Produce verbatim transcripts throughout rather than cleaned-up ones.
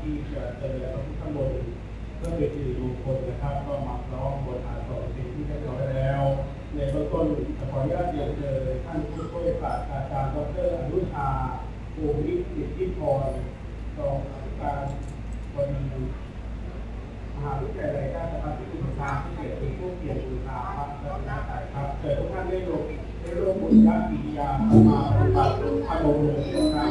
ที่จะเจริญพระพุทธมนต์เพื่อเป็นสิริมงคลนะครับก็มาพร้อมบทอาสนเป็นที่เรียบร้อยแล้วในเบื้องต้นขออนุญาตเรียนเชิญท่านผู้ช่วยศาสตราจารย์ดร.อนุชาภูมิสิทธิพรรองอธิการบดีมหาวิทยาลัยราชภัฏพิบูลสงครามพิเศษเป็นผู้เกียรติบูชาพระรัตนตรัยครับเชิญทุกท่านได้ร่วมได้ร่วมบุญญากิริยามาปฏิบัติพระองค์เลยนะครับ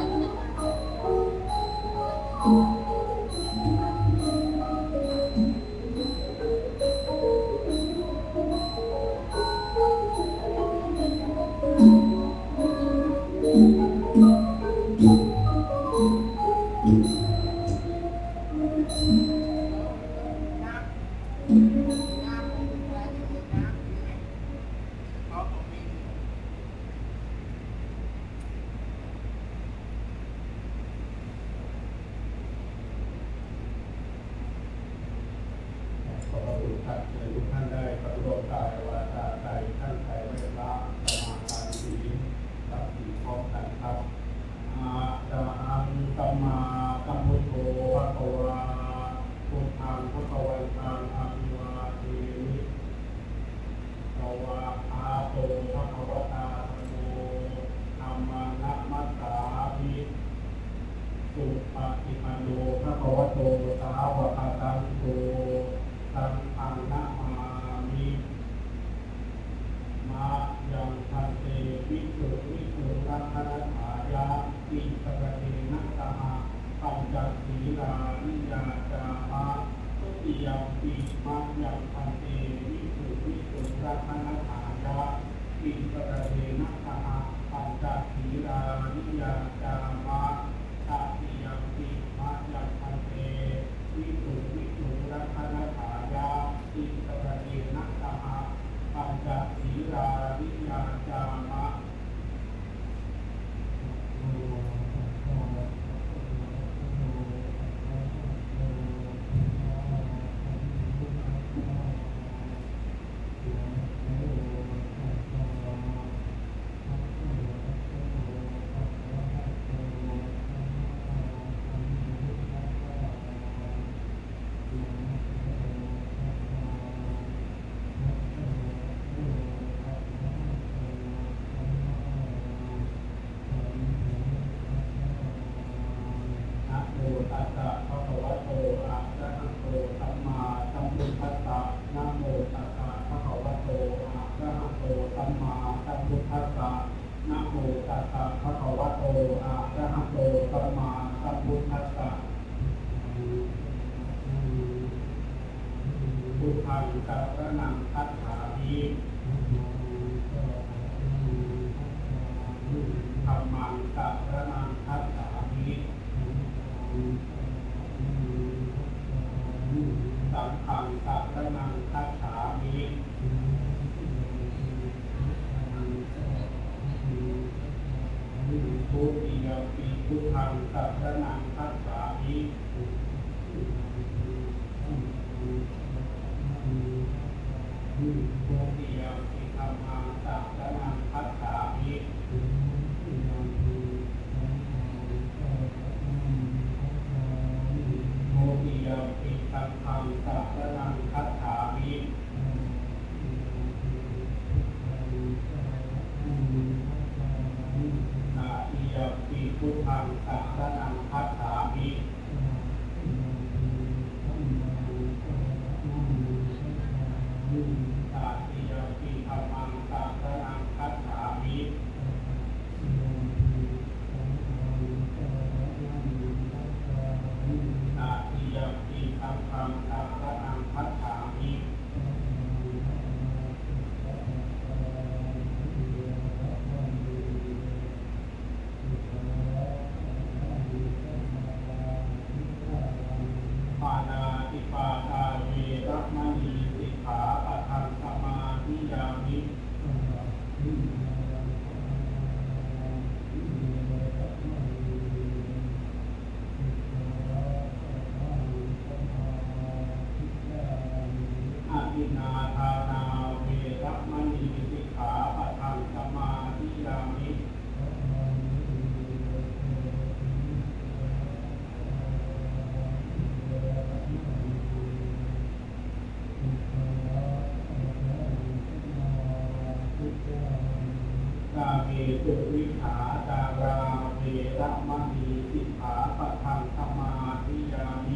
สุวิชาจาราเวรมณีสิกขาปะทังสมาธิยามิ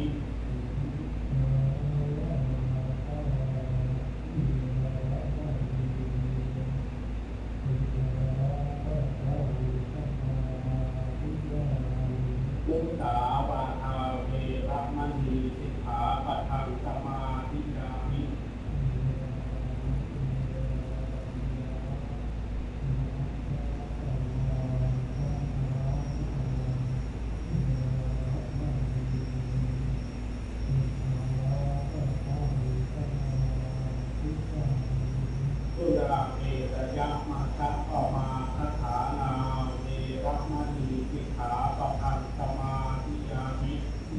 มุสาวาทาเวรมณีสิกขาปะทังสมาธิยามิสุราเมรยะมัชฌะปมาทฐานาเวรมณีสิกขาปะทังสมาธิยามิ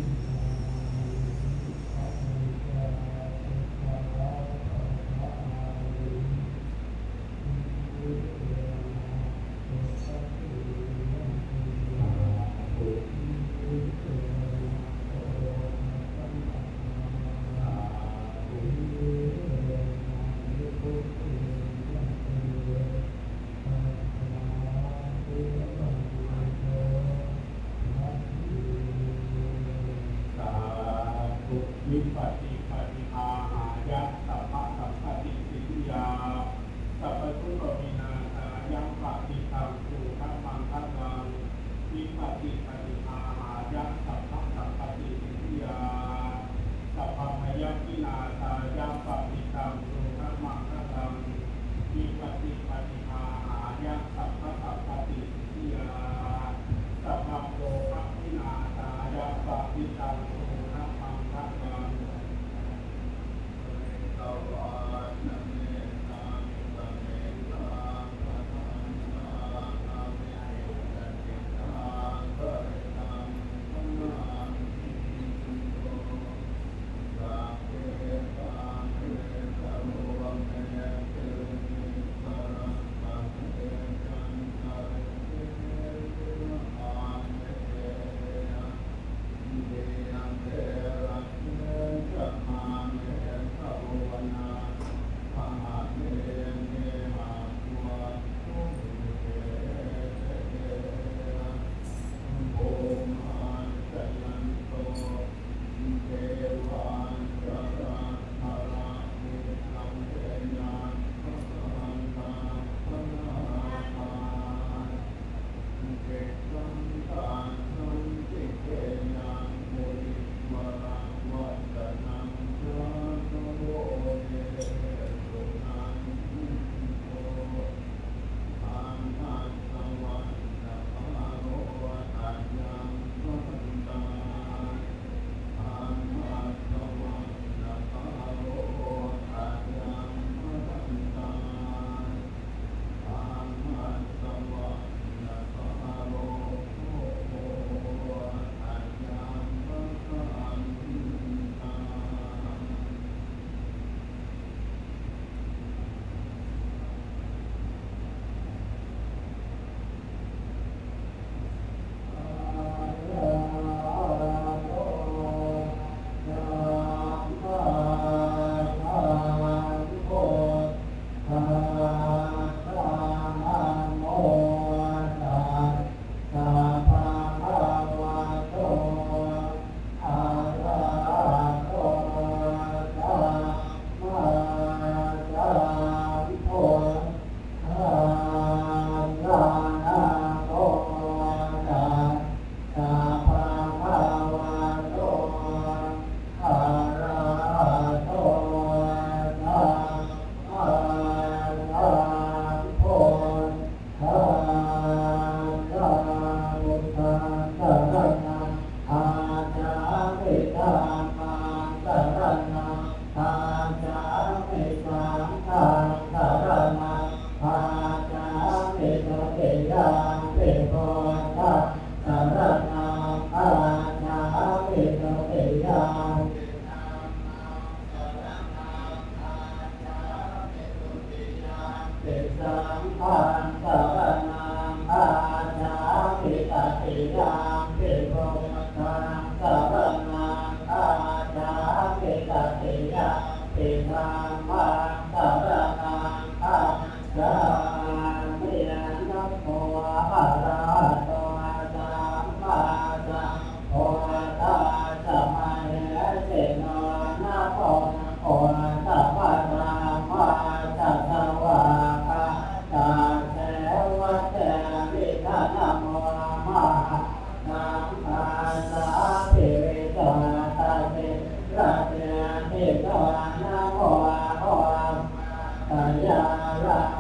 วิปัสสิปฏิภาหายะสัพพะสัพพติสิทธิยาสัพพทุกขวินาศายังปฏิตังสุขมังคัลังวิปัสสิปฏิภาหายะสัพพะสัพพติสิทธิยาสัพพะมยัวินาศายังปฏิตังสุขมังคัลังวิปัสสิปฏิภาหายะสัพพะสัพพติสิทธิยาสัพพะโลภวินาศายังปฏิตังสุขมังคัลังสาธุระเทียเทตวานาโมอาโหตายาลา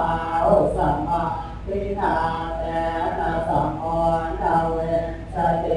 สติ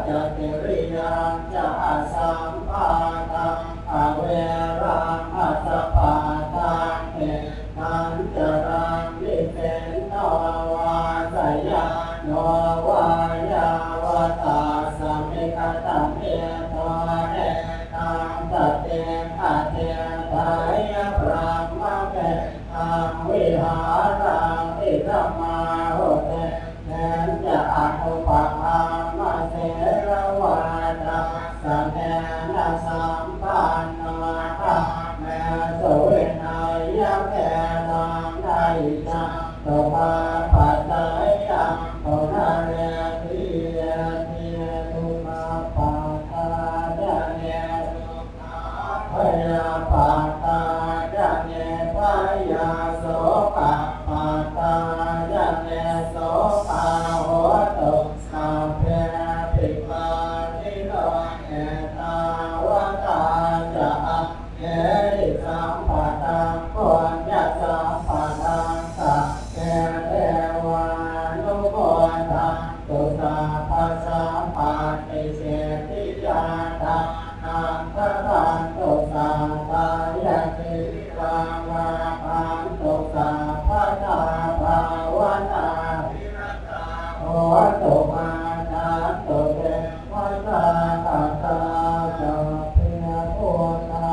จักกิริยังจะสัมปาตังอเวรังอัสสะปาตังเอตันจรังวิเศษโนวาสยาโนวายาวตาสมิกตัมเอโตเอตังตเตอะเทตายะพระมะเกตังวิหารังอิสัมมาโหเตเนจะอนุปะหามะเสรวาตาสัมเนนะสัมปันโนตาเมโสเวนายะเกตังไดจังโตปาปัสสะยังโตนาเรติเยติตุมาปะตาญะเนตุพยาปะตาญะเนพยาโสปะปะตาญะเนโสปะโหตุสัพเพปิปานิโนเอตาวตาจะเอริสัมปะตังปุญญสัมปะตังสัพเพเทวานุโมทันตุสัพพะสัมปะติเสติยาตังนันทตันตุสัพพะยะติรังวาปันตุสัพพะตาภาวนาโอตุมานันตุเตวะตาตาตาจะเพียโพธา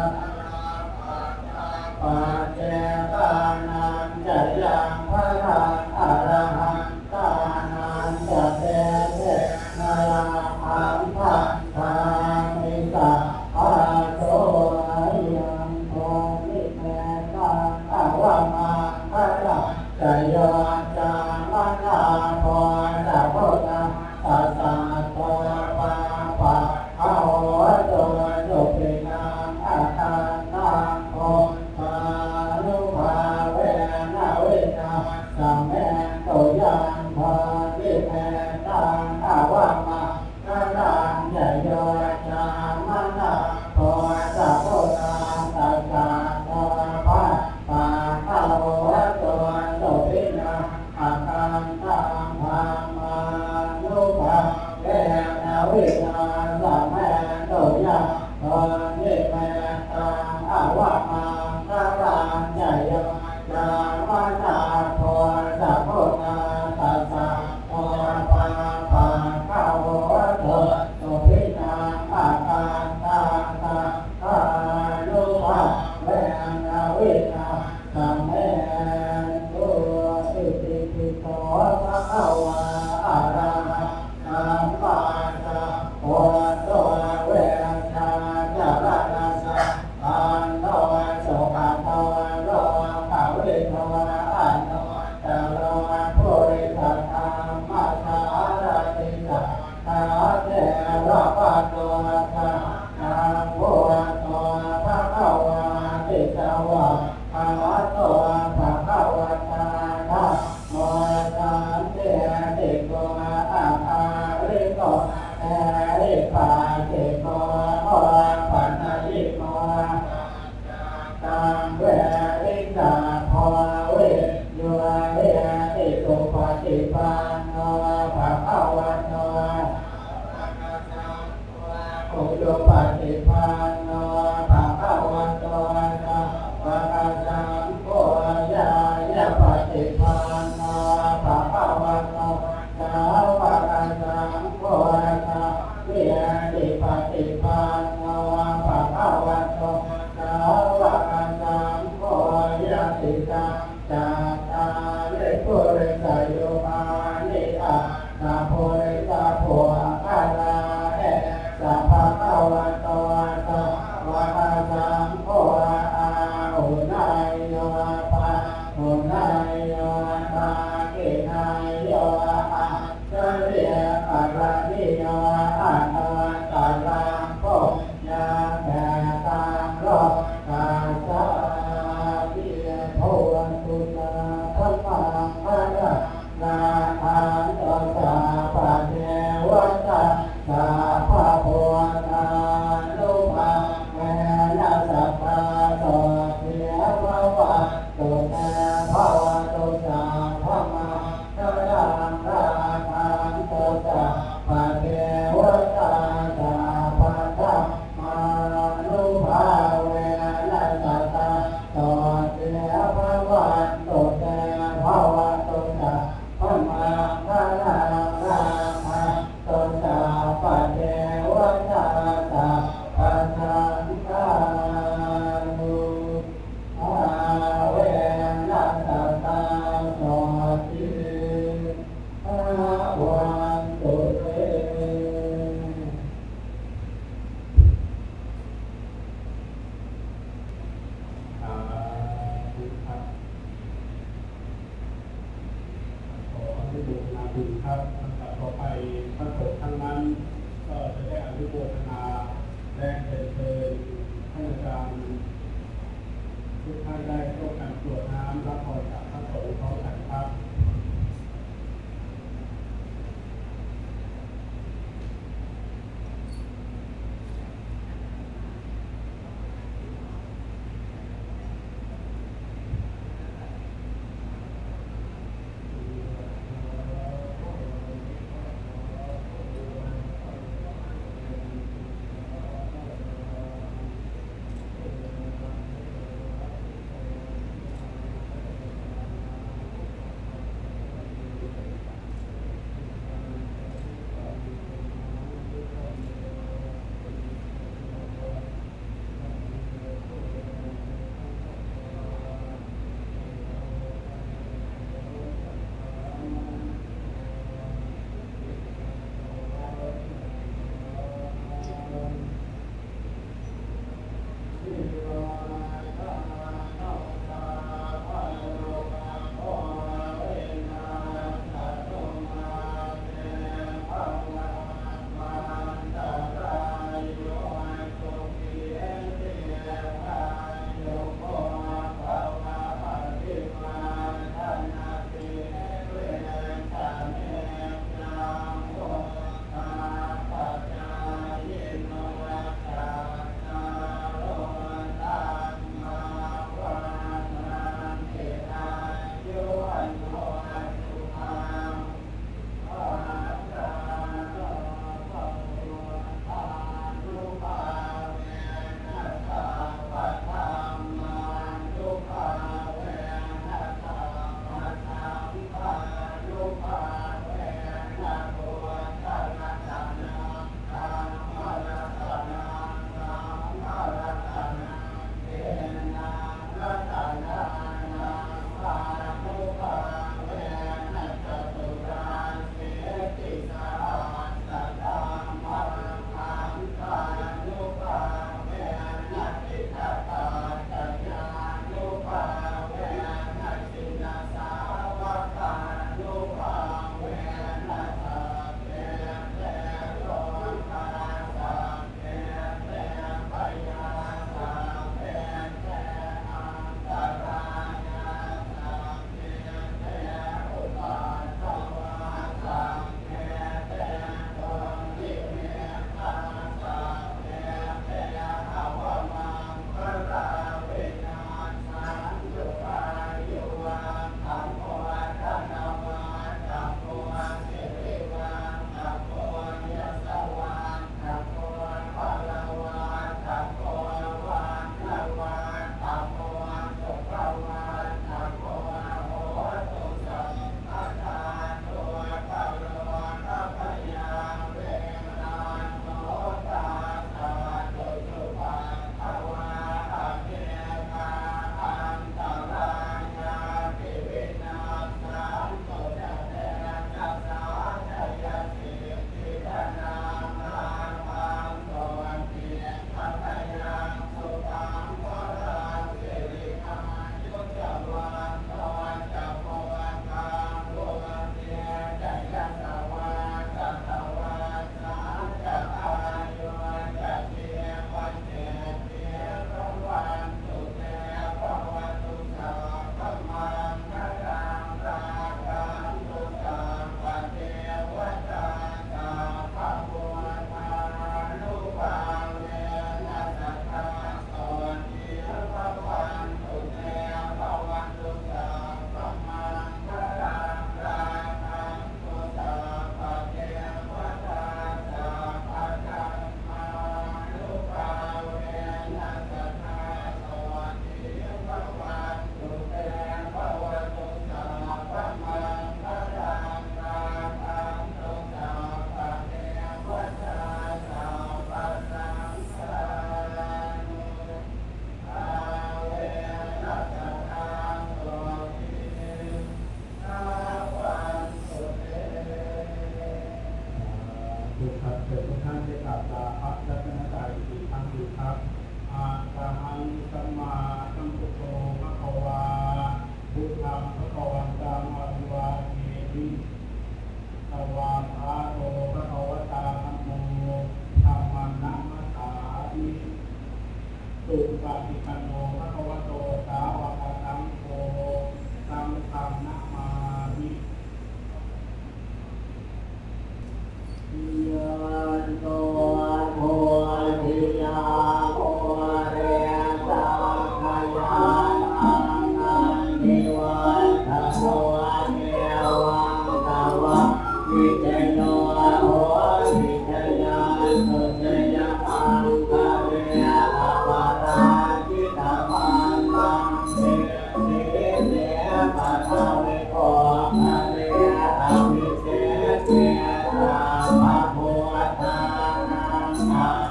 ปัจเจกานันจะยังพระรังอรหันตานันจะเตเตนาหังพันธามิตาอาโสยังโทนิเมตังอวามาพระรังจะยอจามนาโพจะโพธาสัสสะโตปะปะเอาโตโยปินังอาคาตังโพปานุภาเวนะเวนะสัมเมโตยังภาวิเมตังอวามาพระรังจะยอจามนาโพจะโพธาสัสสะโตปะปะเอาโตโยปินังอาคาตังภามานุภาเวนะเวนะสัมเมโตยังภาวิเมตังอวามาพระรังจะยอจามนาโพจะโพธาสัสสะโตปะปะเอาโตโยปินังอาคาตังภานุภาเวนะเวนะสัมเมโตอิติปิโสภะคะวะอะระหะสัมมาสัมพุทโธเวนะจะระนะสะอันโนสุขโตโลกะวิโตอันโนตโลภุริสัทธามัสสะรติสัทธาเทระปะโตสะนังพุทโธภะคะวะติสวะภะคะโตภะคะวะตาธัมโมสันเตติโกอะอะริโกเอริปัสสิโกโอปัญญิโกตังเวริตาภเวโยเรติตุปฏิปันโนภะคะวะโตอุดปฏิปันโนภะคะวะโตสัพพะสังโฆญายะปฏิปันโนภะคะวะโตสาวกสังโฆสัพเพติปฏิปันโนภะคะวะโตสาวกสังโฆยะติตังจัตตาริปุริสโยมานิอานาโพริสาโพอาลาเอสัพพะคะวะโตสัพพะสังโฆอาหุนายโยปะหุนายโยปะกินายโยอะเจริญอะระนิโยอะโนตัลลังโพยาแผ่ตังโลกาสาวิโภตุตาธัมมังภะระนาอันโตสัพพะเทวตาสัพพะโพธานุภาเวนะสัพพะโตเทววะตุเตภวตุสัพพะมังคลังราคันโตสัพพะเทว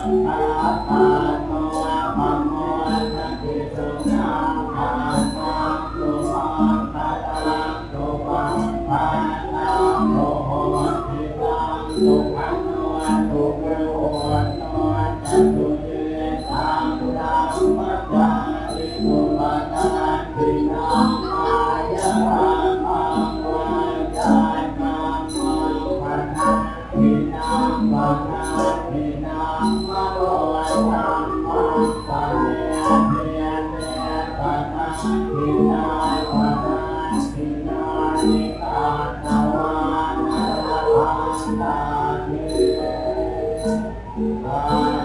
ตาตาโนธรรมโมทันติสุนังทานังสุมังคาตังสุปังปานังโลโหติตังสุขันโนสุเกโหโนจัตุเยตังรังมัจจาริสุปัฏฐานตินังอายะรังมังวาจานังมังปัฏฐานตินังปัฏฐานตินังมโนธัมมังปะเนเทเนปัฏฐานตินังปัฏฐานตินังนิตาตวานะระหังตาเท